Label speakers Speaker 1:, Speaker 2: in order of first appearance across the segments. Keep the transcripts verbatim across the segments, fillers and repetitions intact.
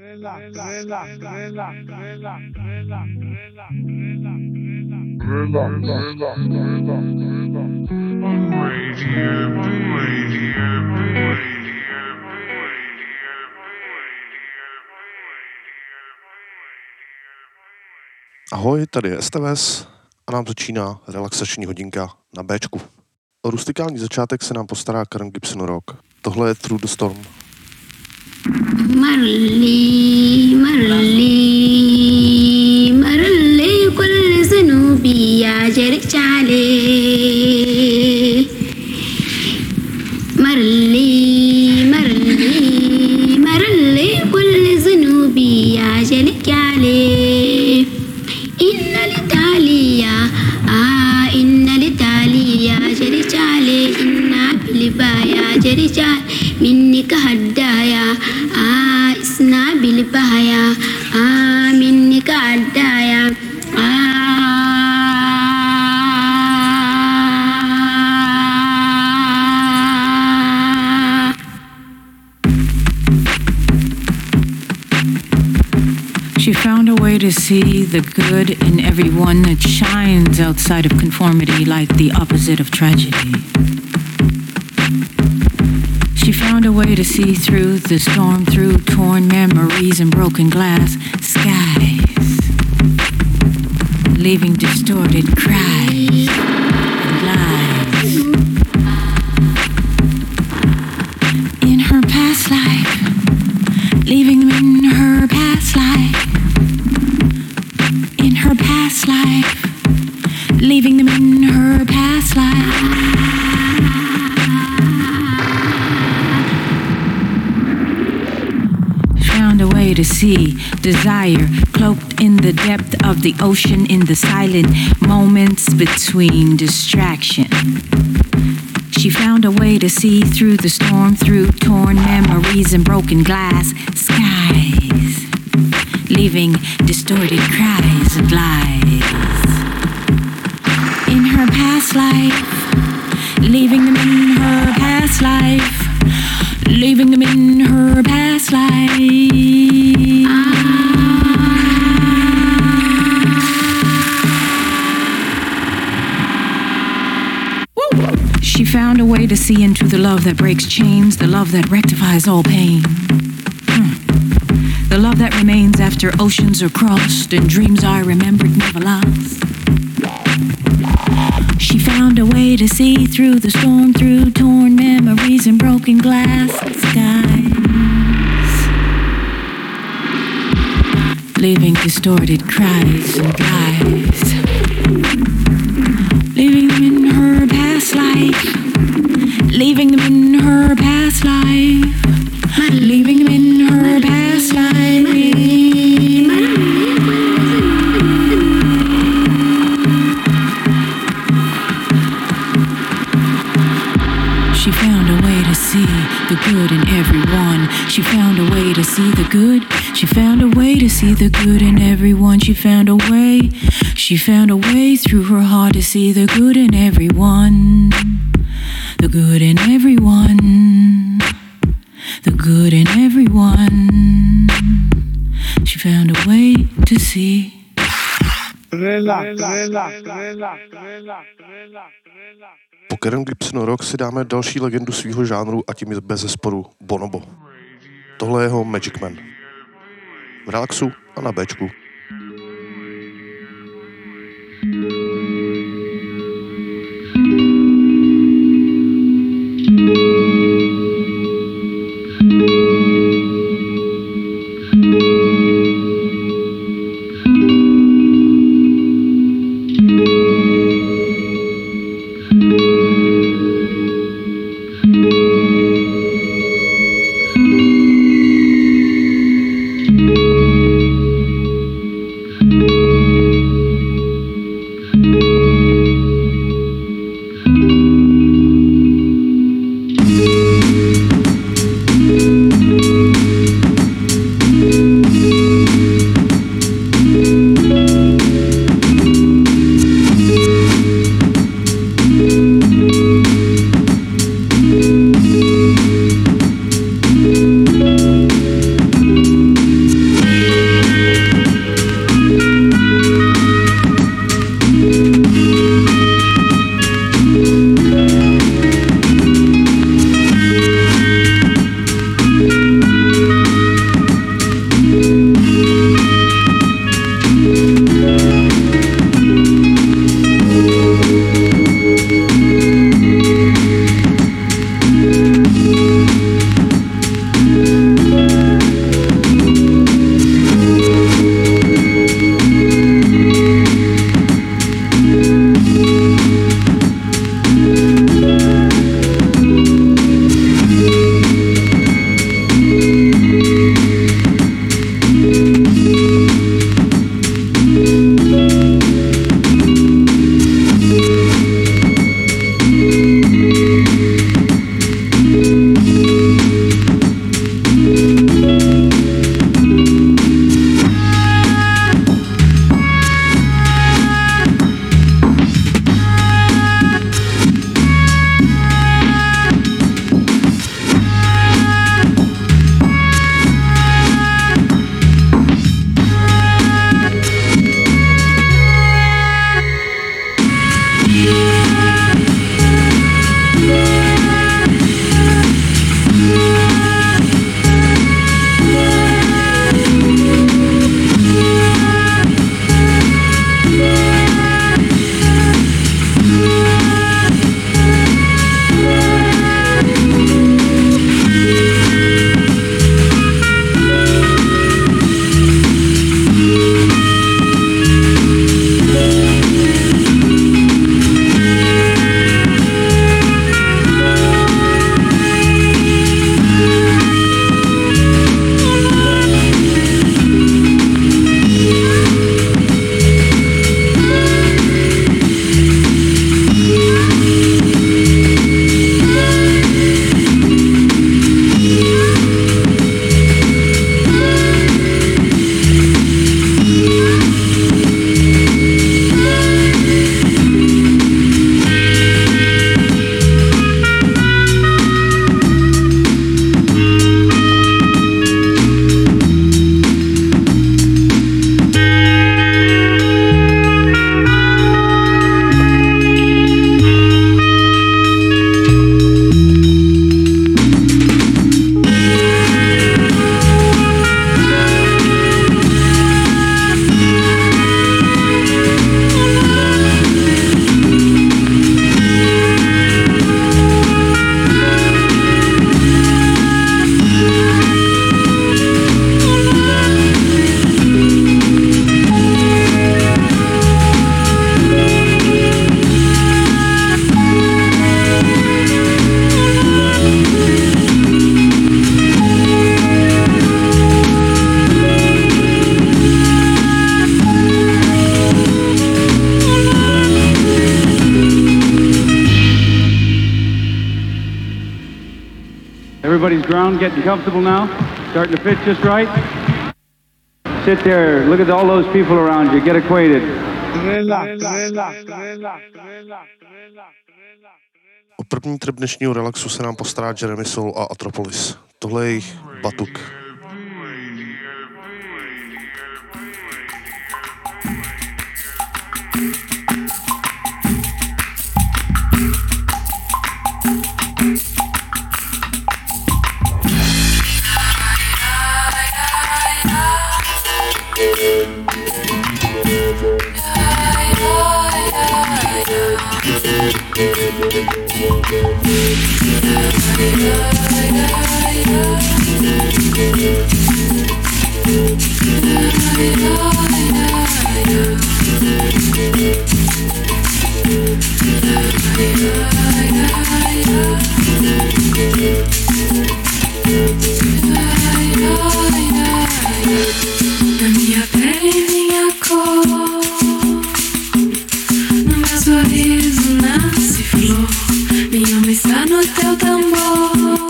Speaker 1: Ahoj, tady je S T V S a nám začíná relaxační hodinka na Bčku. O rustikální začátek se nám postará Karen Gibson Rock. Tohle je Through the Storm.
Speaker 2: Marli, marli, marli, kull zunubi ya jirchale. Marli, marli, marli, kull zunubi ya jirchale. Inna l'Italia, ah, inna l'Italia jirchale, inna bilbaya jirchale. منك هدايا آه اسنا بالبهايا آه منك هدايا
Speaker 3: She found a way to see the good in everyone that shines outside of conformity like the opposite of tragedy. She found a way to see through the storm, through torn memories and broken glass skies, leaving distorted cries and lies. In her past life, leaving them in her past life. In her past life, leaving them in her past life. A way to see desire cloaked in the depth of the ocean, in the silent moments between distraction. She found a way to see through the storm, through torn memories and broken glass skies, leaving distorted cries and lies. In her past life, leaving them in her past life. Leaving them in her past life. She found a way to see into the love that breaks chains, the love that rectifies all pain. Hmm. The love that remains after oceans are crossed and dreams are remembered, never lost. She found a way to see through the storm, through torn memories and broken glass skies, leaving distorted cries and lies. Leaving them in her past life, leaving them in her past life, leaving them in her past life. She found a way to see the good in everyone. She found a way to see the good. She found a way to see the good in everyone. She found a way. She found a way through her heart to see the good in everyone. The good in everyone. The good in everyone. She found a way to see.
Speaker 1: Po Karen Gibson Rock si dáme další legendu svýho žánru a tím je bezesporu Bonobo. Tohle je jeho Magic Man. V relaxu a na Bčku.
Speaker 4: ground getting comfortable now? Starting to fit just right? Sit there, look at all those people around you, get acquainted.
Speaker 1: O první trip dnešního relaxu se nám postará Jeremy Soul a Atropolis. Tohle je jejich Batuk.
Speaker 3: Na minha pele e minha cor, no meu sorriso nasce flor. Minha alma está no teu tambor,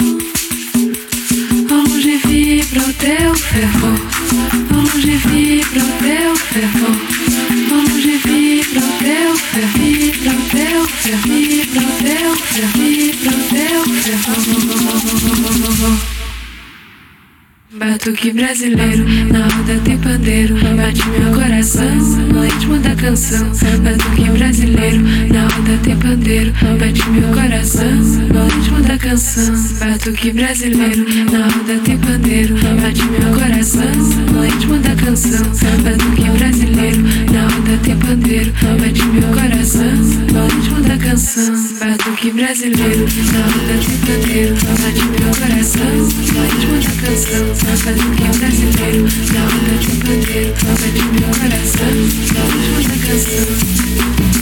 Speaker 3: ao longe vibra o teu fervor, ao longe vibra o teu fervor, ao longe vibra o teu fervor, vibra o teu fervor, vibra o teu fervor, vibra o teu fervor. Batuque brasileiro, na roda tem pandeiro, bate meu coração no ritmo da canção. Batuque brasileiro, na roda tem pandeiro, bate meu coração no ritmo da canção. Batuque brasileiro, na roda tem pandeiro, bate meu coração no ritmo da canção. Batuque brasileiro, na roda tem pandeiro, bate meu coração no ritmo da canção. Batuque brasileiro, na roda tem pandeiro, bate meu coração no ritmo da canção. Batuque brasileiro, na onda de pandeiro, bate meu coração, no ritmo da canção.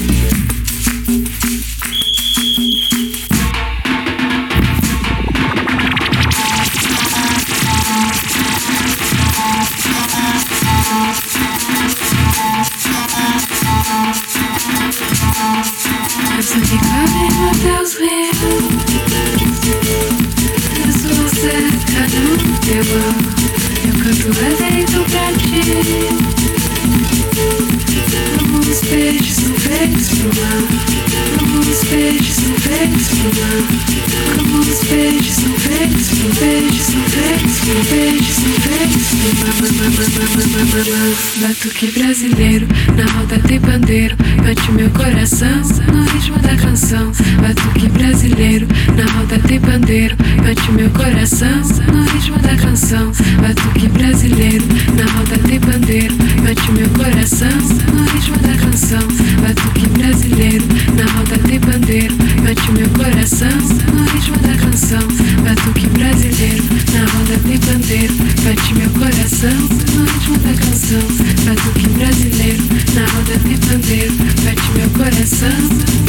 Speaker 3: Essa que cabe no teus rios, eu sou cerca do teu ar. Eu canto lá dentro pra ti, como os peixes são feitos pro mar, como os peixes são feitos pro mar, como os peixes são feitos pro peixes são feitos pro peixes são feitos pro mar. Batuque brasileiro, na roda tem pandeiro, bate meu coração no ritmo da canção. Batuque brasileiro, na roda tem pandeiro, bate meu coração no ritmo da canção. Batuque brasileiro, na roda tem pandeiro, bate meu coração no ritmo da canção. Batuque brasileiro, na roda tem pandeiro, bate meu coração no ritmo da canção. Batuque brasileiro, na roda tem pandeiro, bate meu coração no ritmo da canção. Batuque brasileiro, na roda tem pandeiro, bate meu coração.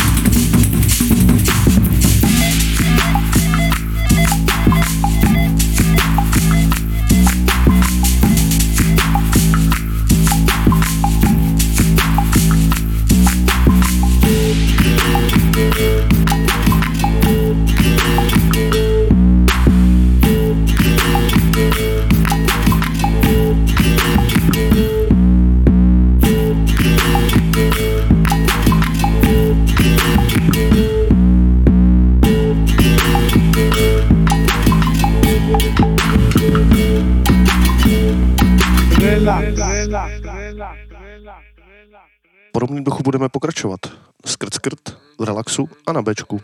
Speaker 1: Podobným duchu budeme pokračovat. Skrt skrt, v relaxu a na béčku.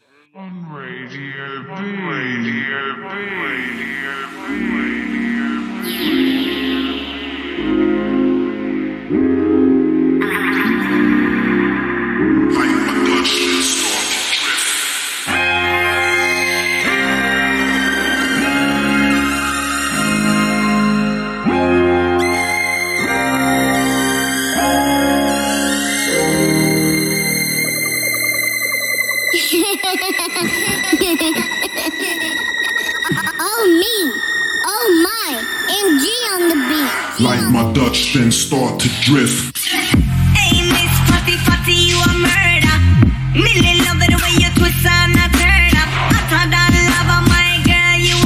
Speaker 2: Oh me, oh my, M G on the beat.
Speaker 5: Like my Dutch, then start to drift.
Speaker 6: Hey Miss Fatty Fatty, you a murder. Millie love it the way you twist and a turn up. I thought I love my girl, you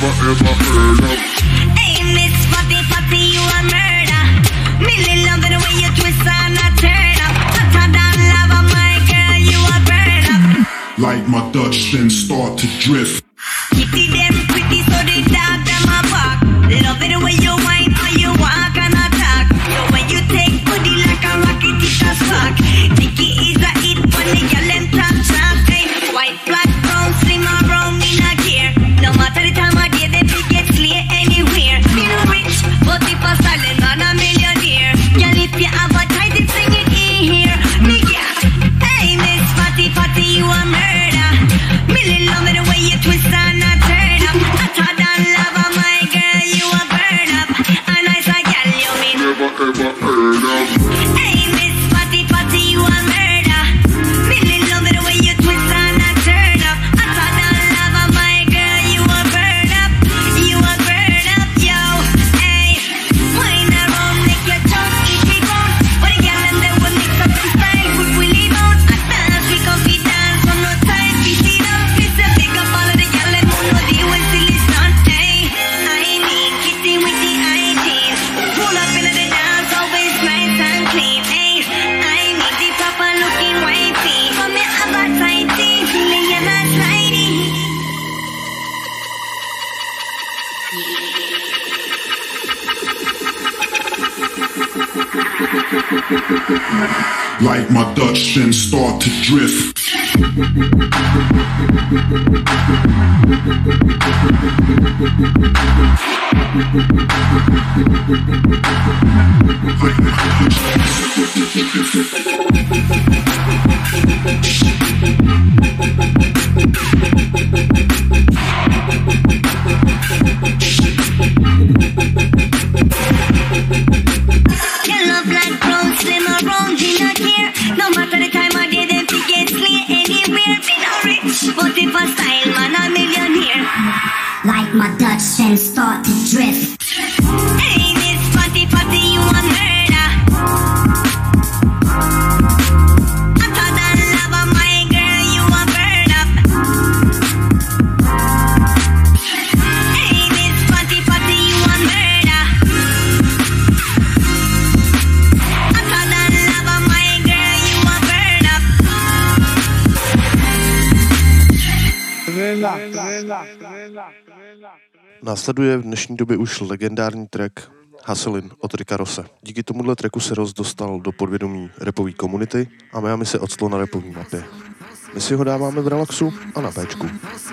Speaker 5: never ever heard of.
Speaker 6: Hey, Miss Fatty Fatty, you a murder. Millie love the way you twist and a turn up. Hotter than lava, my girl, you a burn up.
Speaker 5: Like my Dutch, then start to drift.
Speaker 6: Kitty them pretty, so the dog them a bark. Love it the way you whine or you walk and attack. So when you take booty like a rocket, it's a spark. Nicky is a hit when the girl them top top. Hey, white, black, brown, slim or brown, me not care. No matter the time of day, they pick get slay anywhere. Me no rich, but if a silent man a millionaire. Girl, if you have a tight, it's sing it in here. Me yeah. Hey, Miss Fatty Fatty, you a murder. Millie love it the way you twist and a turn up. Hotter than lava, my girl, you a burn up. And I say, girl, you mean
Speaker 5: Never ever heard of.
Speaker 6: hey, Miss Fatty Fatty, you a murder. Millie love it the way you twist and a turn up. Hotter than lava, my girl, you a burn up. You a burn up, yo. Hey, wine around, make your tongue itchy bone. But the girl and they will mix up the style, put willy bone. I dance, we come be dance, from no time, we see them. It's a big up all of the girl and who know the when still is done. Hey, I mean, kitty with the hygiene. Pull up into the dance, always nice and clean. Hey, I mean the proper looking wifey. For me, I'm a tighty, feeling you're not sliding.
Speaker 5: Like my Dutch, then start to drift. Like my Dutch, then start to
Speaker 6: Yellow, black, brown, slim or brown, we not care. No matter the time of day, them fi get slay anywhere. Me no rich, but if a style man a millionaire.
Speaker 2: Like my Dutch, then start to drift.
Speaker 6: Hey, Miss Fatty Fatty, you a murder. Hotter than lava, my girl, you a burn up. Hey, Miss Fatty Fatty, you a murder. Hotter than lava, my girl, you a burn up.
Speaker 1: Následuje v dnešní době už legendární track Hustlin od Ricka Rosse. Díky tomuhle tracku se Ross dostal do podvědomí rapové komunity a Miami se octlo na rapové mapě. My si ho dáváme v relaxu a na péčku.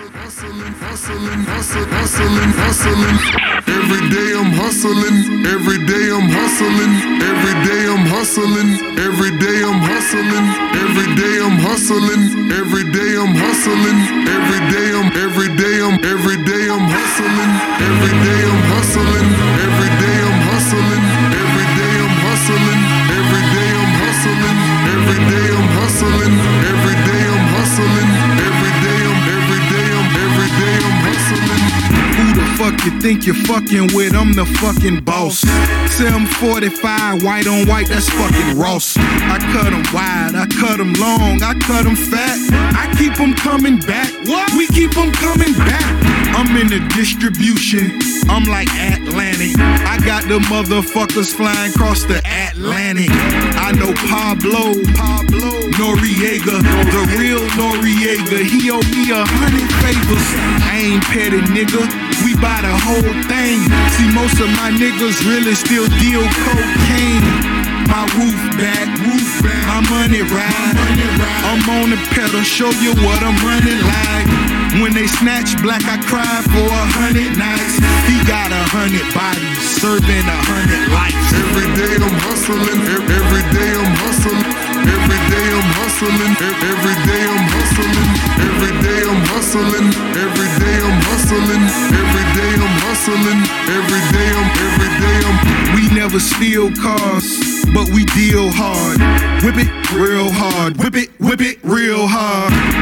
Speaker 5: Every day I'm hustling, every day I'm hustling, every day I'm hustling, every day I'm hustling, every day I'm hustling, every day I'm hustling, every day I'm, every day I'm, every day I'm hustling, every day I'm hustling, every day I'm hustling, every day I'm hustling, every day I'm hustling, every day I'm hustling, every day I'm hustling, every day I'm, every day I'm, every day I'm hustling.
Speaker 7: Who the fuck you think you're fucking with? I'm the fucking boss. seven forty-five, white on white, that's fucking Ross. I cut them wide, I cut them long, I cut them fat. I keep them coming back. What? We keep them coming back. I'm in the distribution, I'm like Atlantic. I got the motherfuckers flying across the Atlantic. I know Pablo, Pablo Noriega, the real Noriega. He owe me a hundred favors. I ain't petty, nigga. We buy the whole thing. See, most of my niggas really still deal cocaine. My roof back, roof back, my money ride. I'm on the pedal, show you what I'm running like. When they snatch black, I cry for a hundred nights. He got a hundred bodies, serving a hundred lives.
Speaker 5: Every day I'm hustling, e- every day I'm hustling, every day I'm hustling, e- every day I'm hustling, every day I'm hustling, every day I'm hustling, every day I'm hustling, every day I'm, every day I'm.
Speaker 7: We never steal cars, but we deal hard. Whip it real hard, whip it, whip it real hard.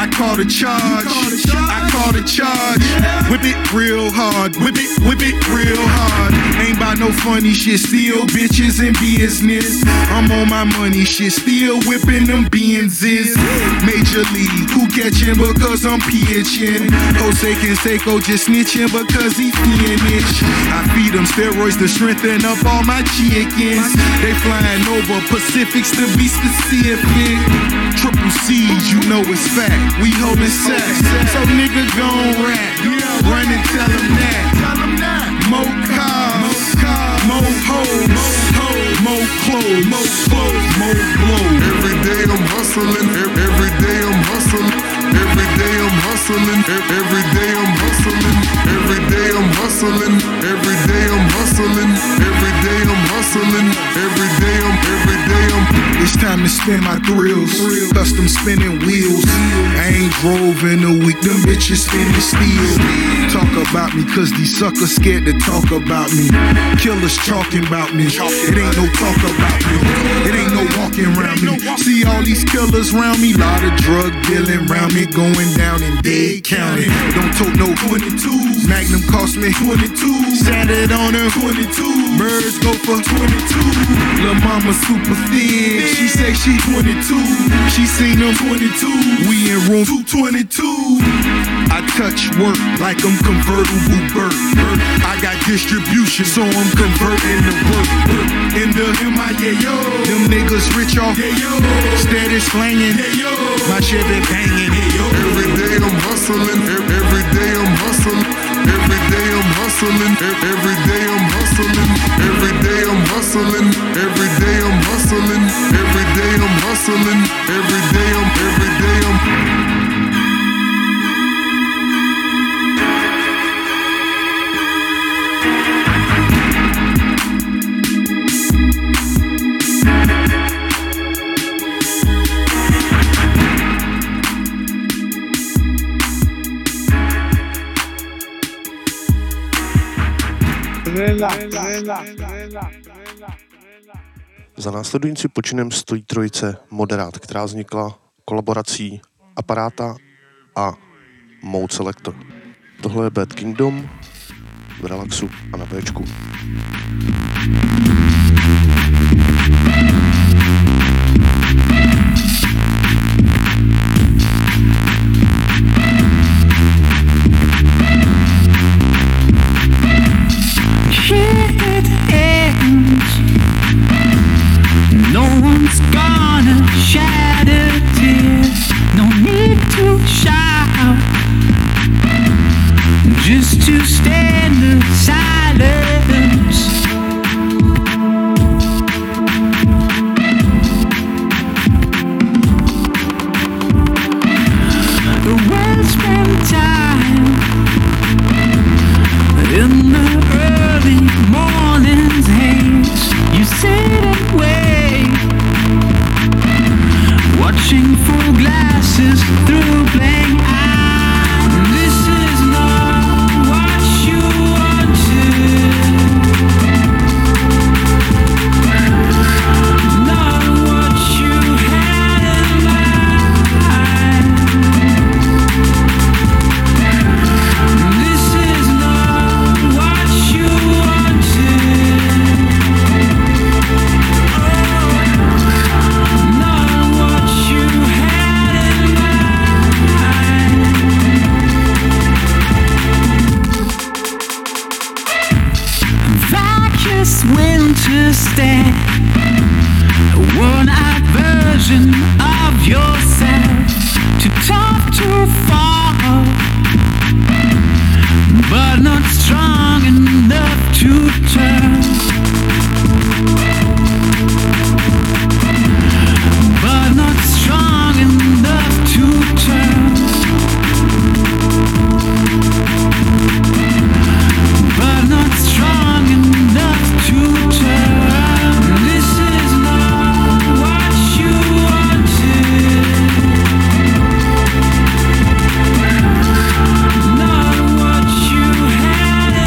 Speaker 7: I call the charge. I call the charge. Whip it real hard. Whip it, whip it real hard. Ain't about no funny shit. Still bitches in business. I'm on my money shit. Still whipping them Benzes. Major league. Who catching because I'm pitching? Jose Canseco just snitching because he finished. I feed them steroids to strengthen up all my chickens. They flying over Pacifics to be specific. Triple C's, you know it's fact. We holding sacks. So nigga gon' rap. Run and tell them that. More cars, more hoes, more clothes, more clothes, more blows.
Speaker 5: Every day I'm hustling. Every day I'm hustling. Every day I'm hustling. Every day I'm hustling. Every day I'm hustling. Every day I'm hustling. Every day I'm hustling. Every day I'm. Every day I'm.
Speaker 7: It's time to spin my thrills. Custom spinning wheels. I ain't drove in a week. Them bitches spinning steel. Talk about me, cause these suckers scared to talk about me. Killers talking about me. It ain't no talk about me. It ain't no walking around me. See all these killers around me. Lot of drug dealing around me. Going down in Dade County. Don't tote no twenty-twos. Magnum cost me twenty-two. Sat it on her twenty-two. Birds go for twenty-two. Lil' mama super thin. She say she twenty-two. She seen them twenty-two. We in room two twenty-two. I touch work like I'm convertible Burt. I got distribution, so I'm converting the work. In the M I A yo. Them niggas rich off. Steady slanging. My shit been banging.
Speaker 5: Every day I'm hustling. Every day I'm hustling. Every day I'm hustling. Every day I'm hustling. Every day I'm hustling. Every day I'm hustling. Every day I'm hustling. Every day I'm. Every day I'm.
Speaker 1: Za následující počinem stojí trojice Moderát, která vznikla kolaborací Aparáta a Mode Selector. Tohle je Bad Kingdom v relaxu a na Bčku.
Speaker 3: It ends. No one's gonna shed a tear. No need to shout, just to stand in silence. The well spent time in the early morning's haze. You sit and wait, watching full glasses through blank eyes. This is not what you wanted, not what you had in mind. This is not what you wanted, oh, not what you had in mind. Vacuous winter stand, a worn-out version of yourself, too tough to fall, but not strong enough to turn, but not strong enough to turn, but not strong enough to turn. This is not what you wanted, not what you had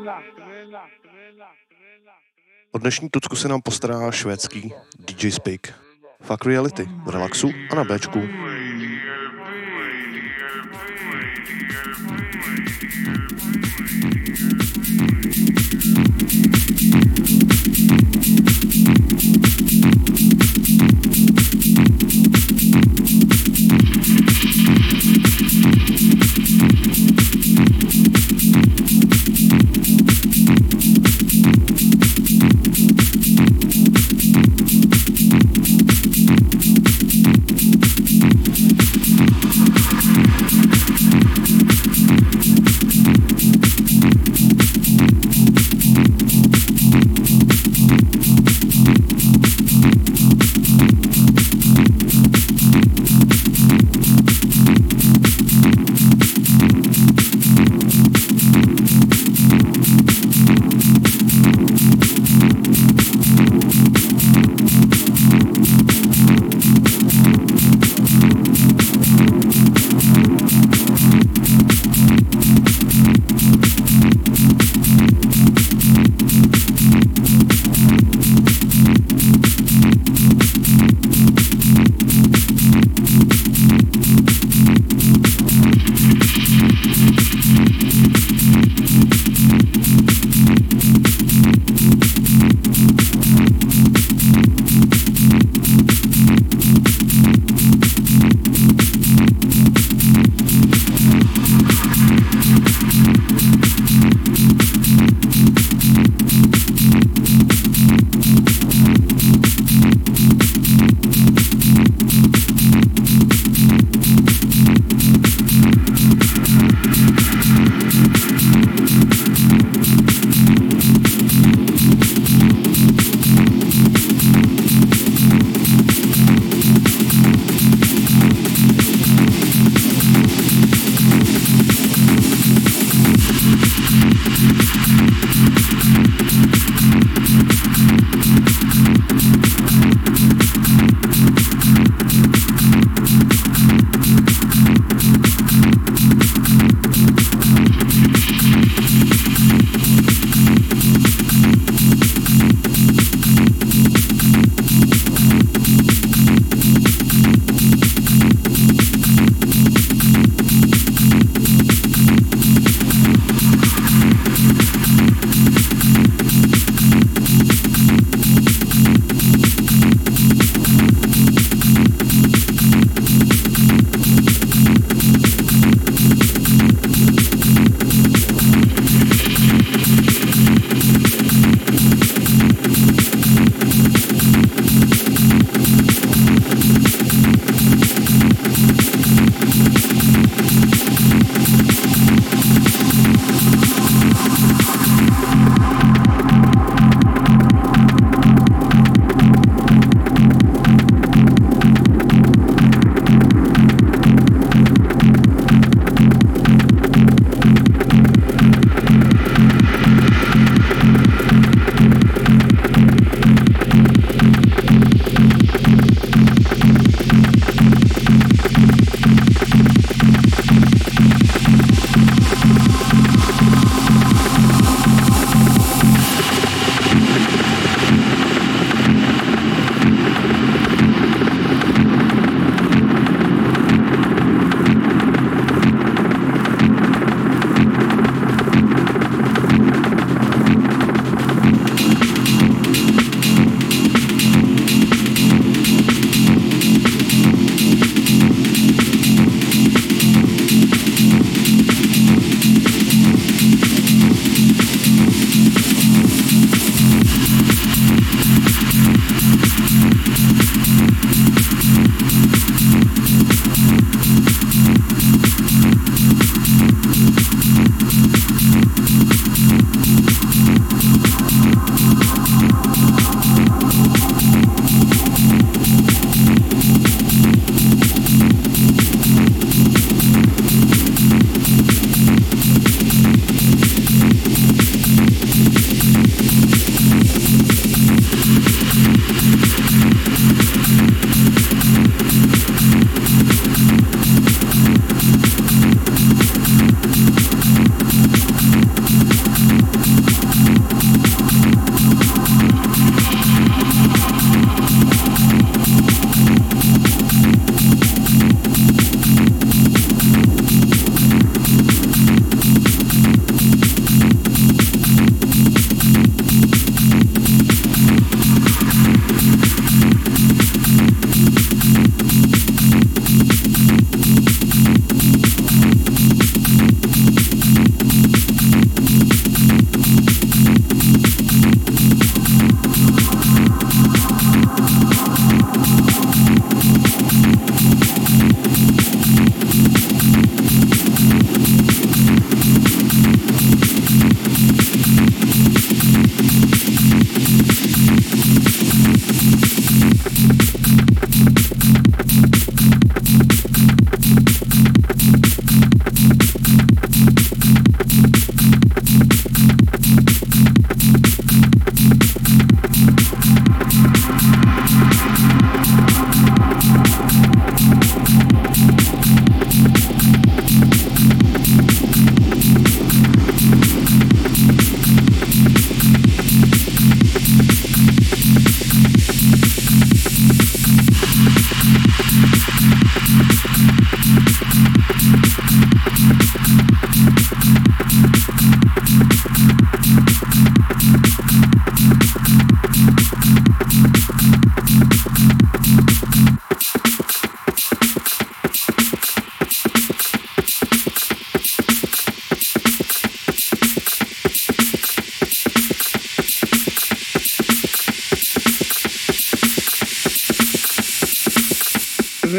Speaker 1: O dnešní tucku se nám postará švédský D J Spik. Fuck Reality v relaxu a na Bčku.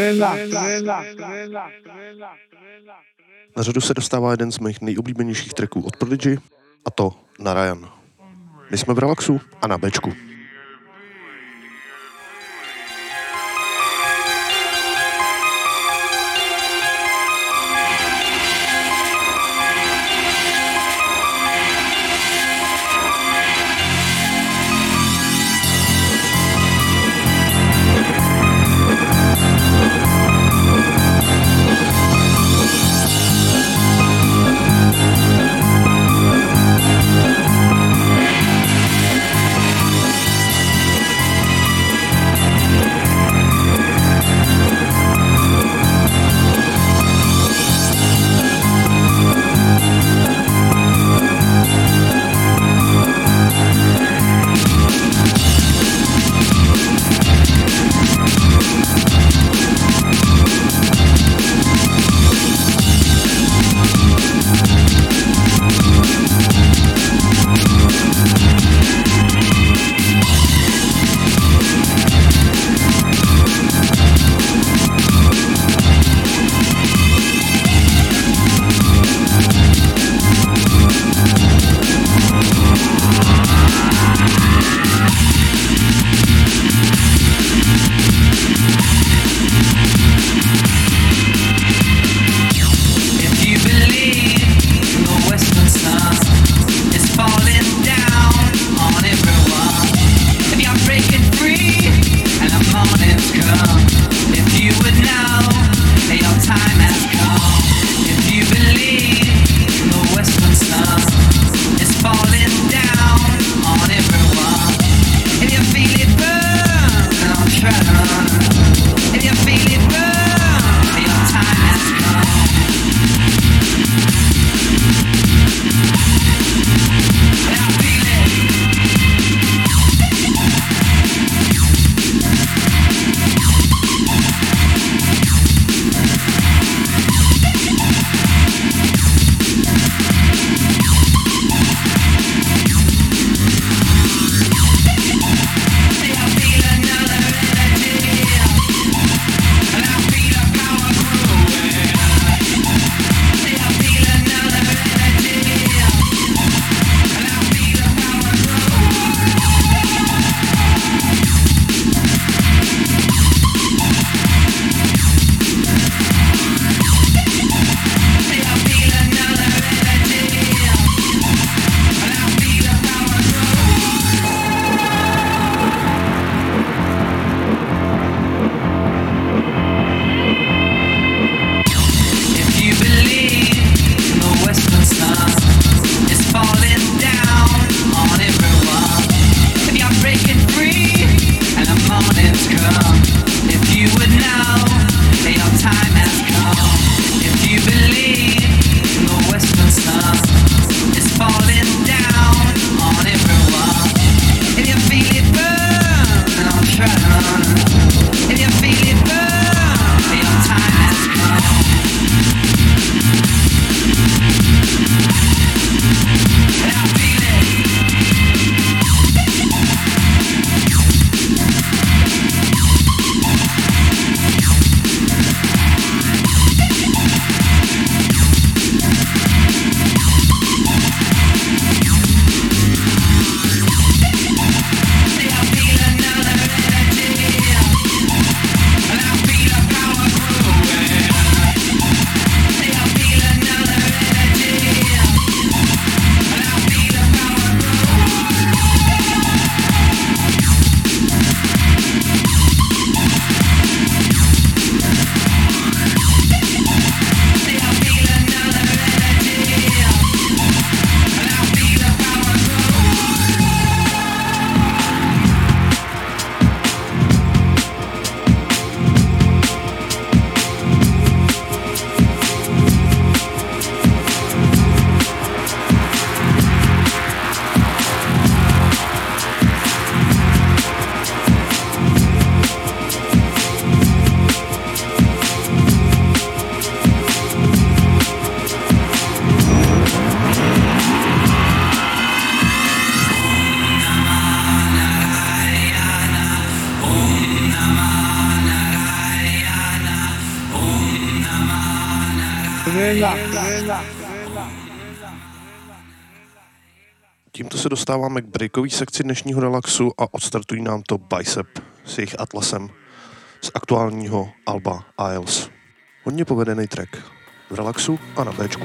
Speaker 1: Na řadu se dostává jeden z mých nejoblíbenějších tracků od Prodigy, a to Na Ryan. My jsme v relaxu a na Bčku. Tímto se dostáváme k breakové sekci dnešního relaxu a odstartují nám to Bicep s jejich Atlasem z aktuálního alba Isles. Hodně povedený track v relaxu a na Bčku.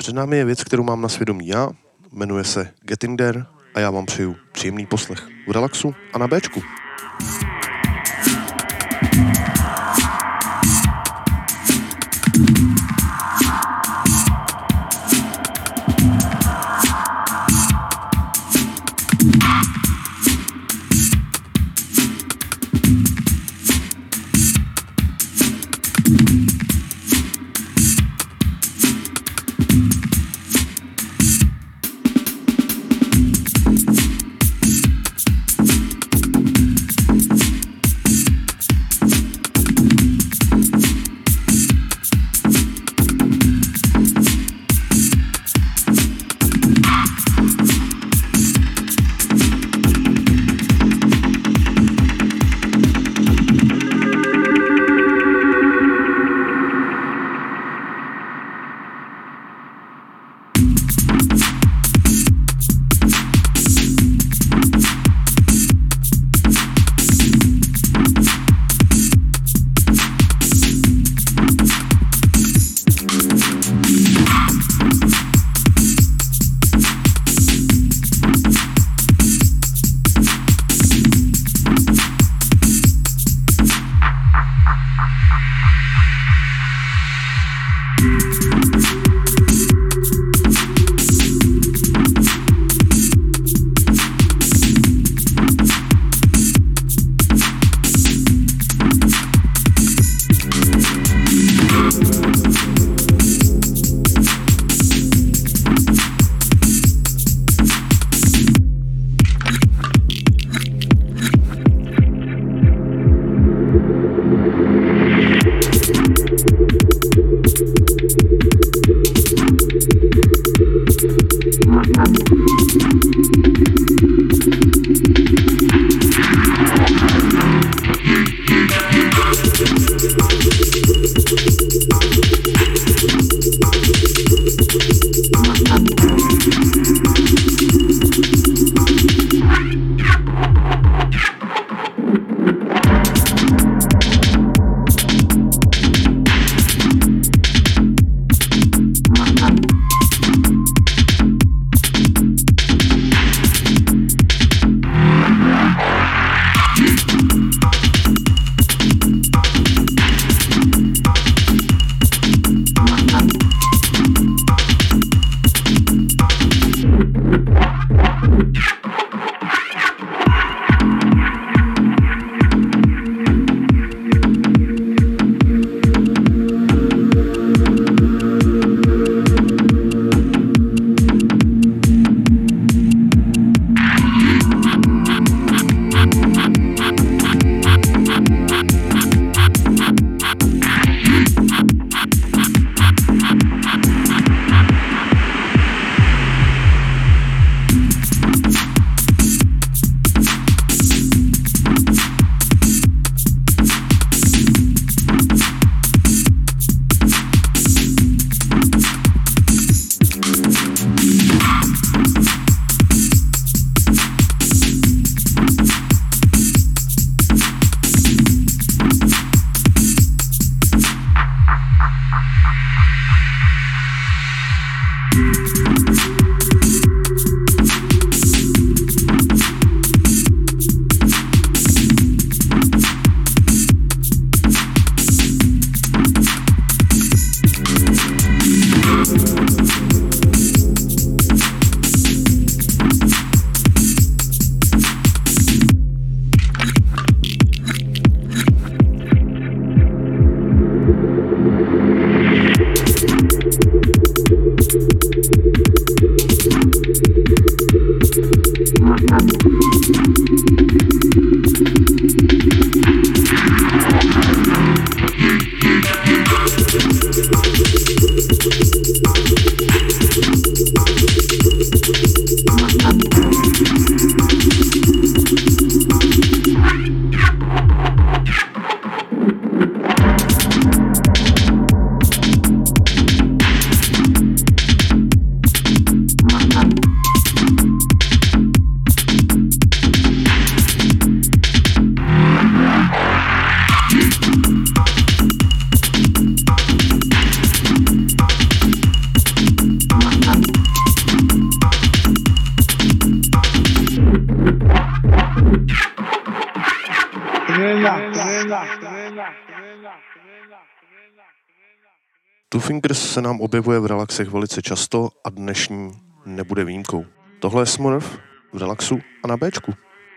Speaker 1: Před námi je věc, kterou mám na svědomí já, jmenuje se Getting There a já vám přeju příjemný poslech v relaxu a na Béčku. Two Fingers se nám objevuje v relaxech velice často a dnešní nebude výjimkou. Tohle je Smurf v relaxu a na Bčku.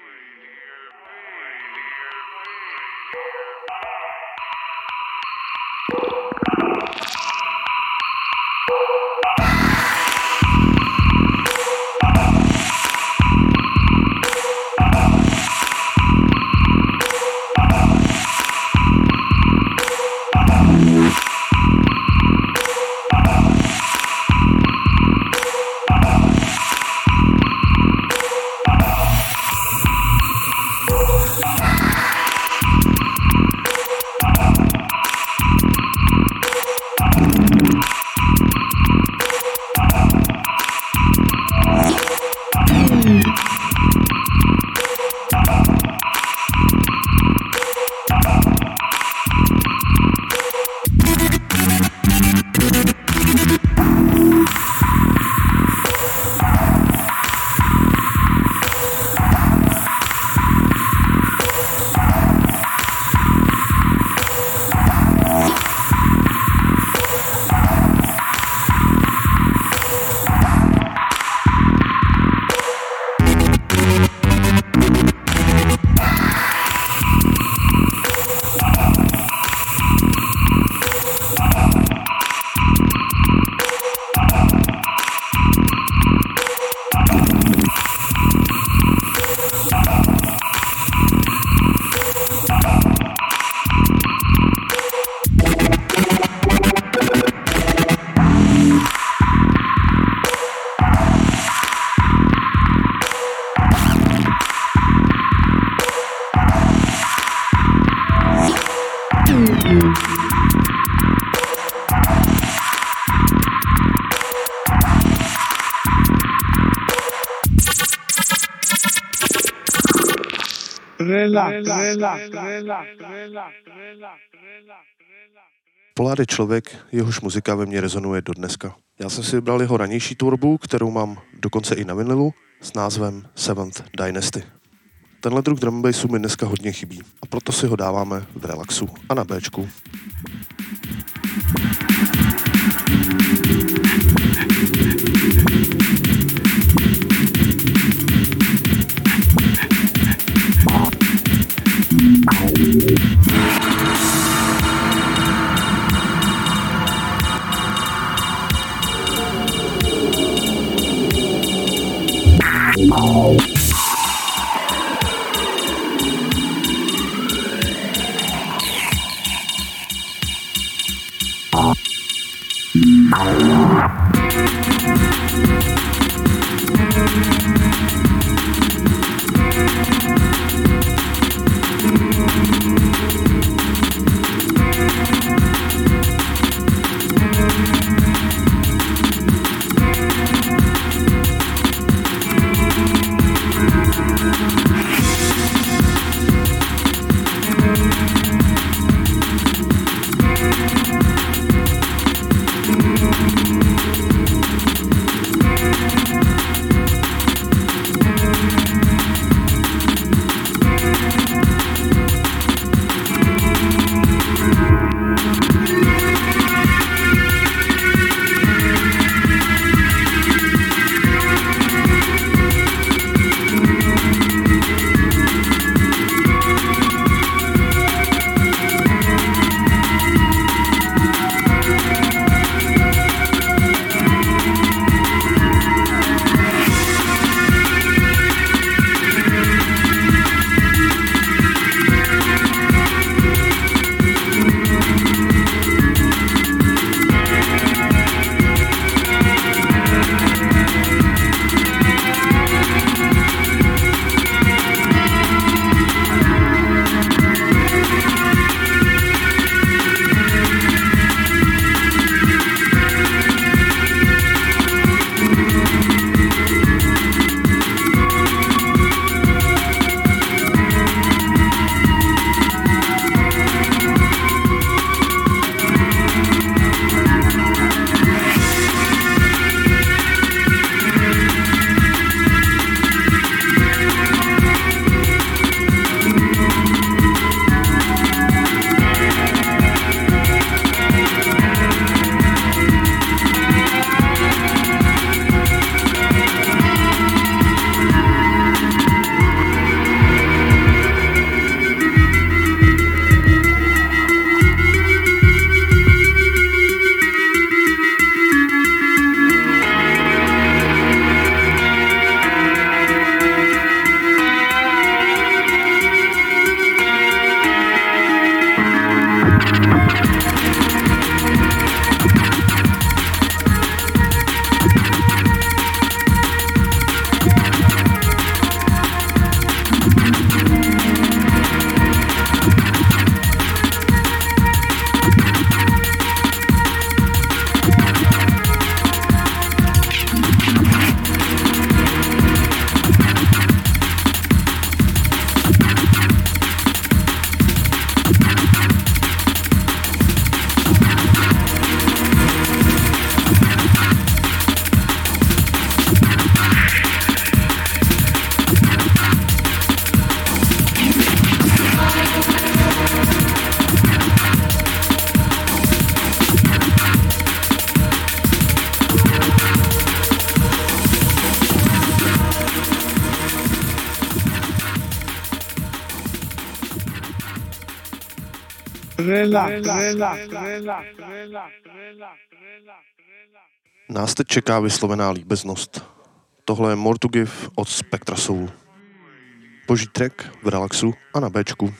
Speaker 1: Pollard je člověk, jehož muzika ve mně rezonuje do dneska. Já jsem si vybral jeho ranější tvorbu, kterou mám dokonce i na vinilu, s názvem Seventh Dynasty. Tenhle druh drum bassu mi dneska hodně chybí a proto si ho dáváme v relaxu a na Bčku. Nás teď čeká vyslovená líbeznost. Tohle je More to Give od Spectra Soul. Boží track v relaxu a na Bčku.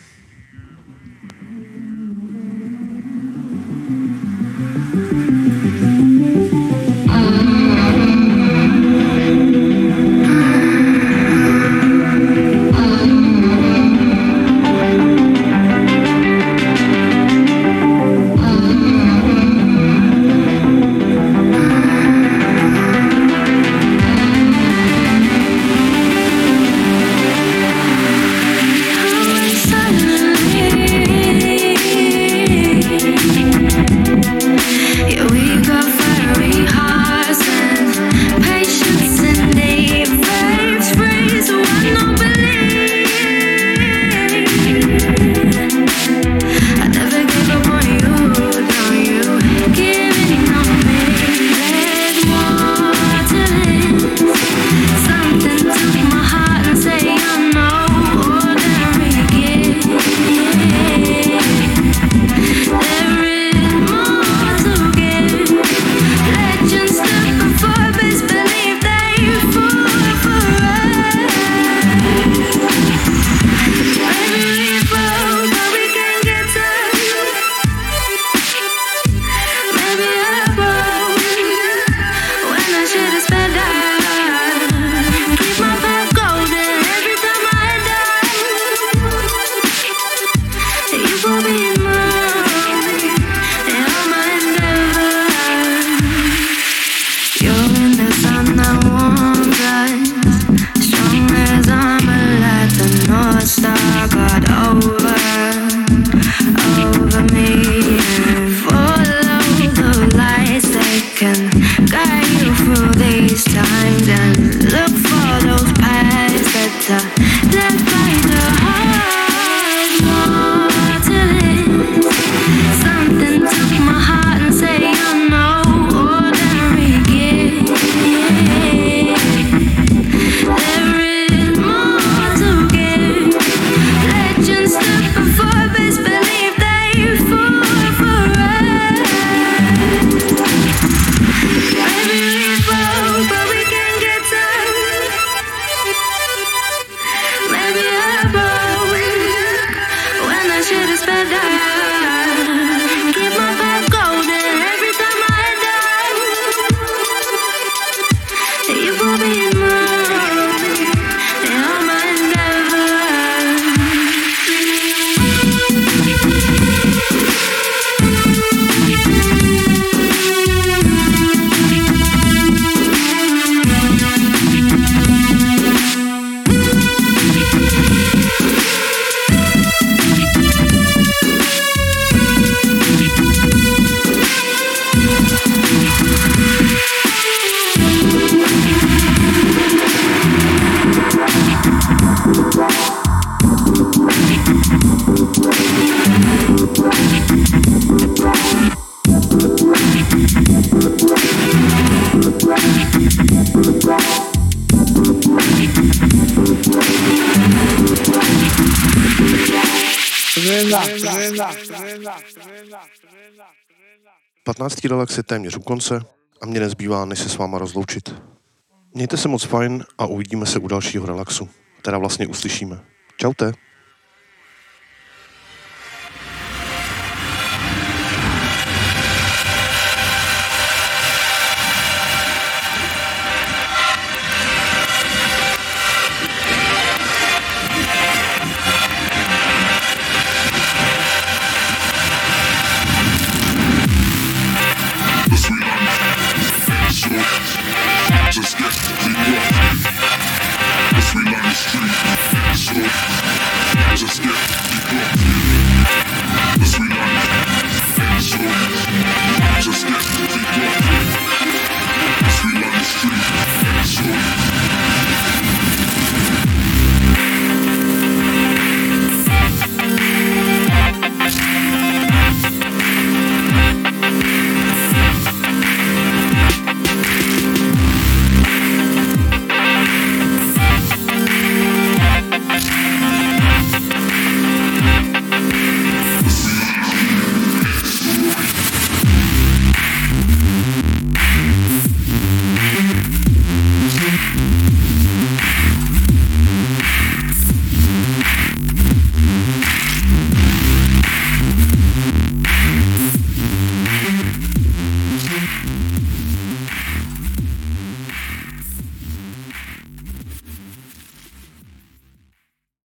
Speaker 1: patnáctý relax je téměř u konce a mě nezbývá, než se s váma rozloučit. Mějte se moc fajn a uvidíme se u dalšího relaxu. Teda vlastně uslyšíme. Čaute.
Speaker 5: Just get to be rough. Let's reline the street. So, just get to be rough.